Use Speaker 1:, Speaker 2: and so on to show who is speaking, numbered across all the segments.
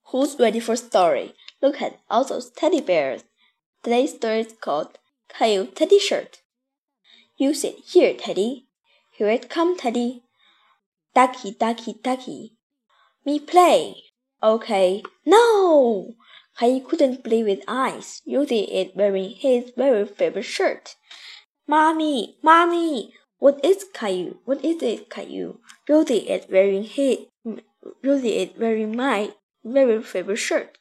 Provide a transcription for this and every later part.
Speaker 1: Who's ready for a story? Look at all those teddy bears. Today's story is called Caillou Teddy Shirt. You sit here, Teddy. Here it come, Teddy. Ducky, ducky, ducky. Me play. Okay. No! Caillou couldn't believe his eyes. Rosie is wearing his very favorite shirt. Mommy, Mommy! What is Caillou? What is it, Caillou? Rosie is wearing my very favorite shirt.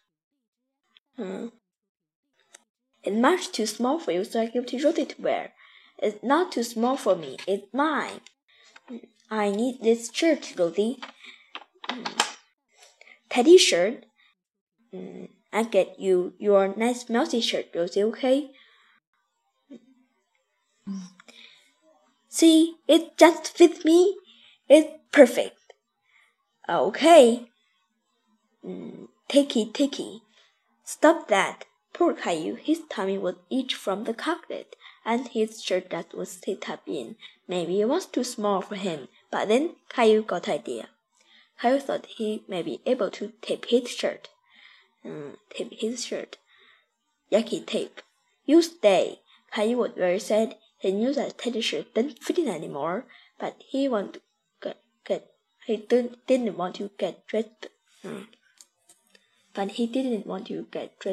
Speaker 1: It's much too small for you, so I give it to Rosie to wear. It's not too small for me. It's mine. I need this shirt, Rosie. Teddy shirt. I get you your nice mousy shirt, Rosie, okay? See, it just fits me. It's perfect. Okay. Ticky. Stop that. Poor Caillou, his tummy was itched from the chocolate, and his shirt that was stitched up in. Maybe it was too small for him, but then Caillou got an idea. Caillou thought he may be able to tape his shirt. Yucky tape. You stay. Caillou was very sad. He knew that Teddy's shirt didn't fit him anymore, but he didn't want to get dressed. But he didn't want to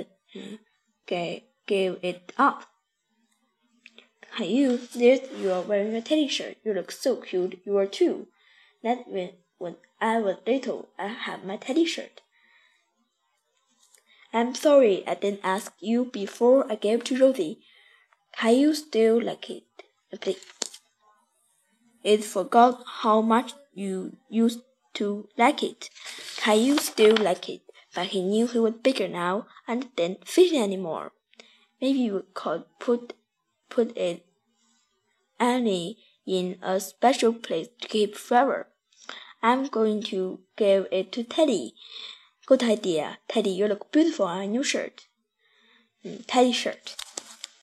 Speaker 1: give it up. Caillou, there you are wearing a teddy shirt. You look so cute. You are too. That when I was little, I had my teddy shirt. I'm sorry I didn't ask you before I gave it to Rosie. Caillou still liked it. It forgot how much you used to like it. Caillou still liked it, but he knew he was bigger now and didn't fit anymore. Maybe you could put it Annie in a special place to keep forever. I'm going to give it to Teddy. Good idea. Teddy, you look beautiful on a new shirt. Teddy shirt.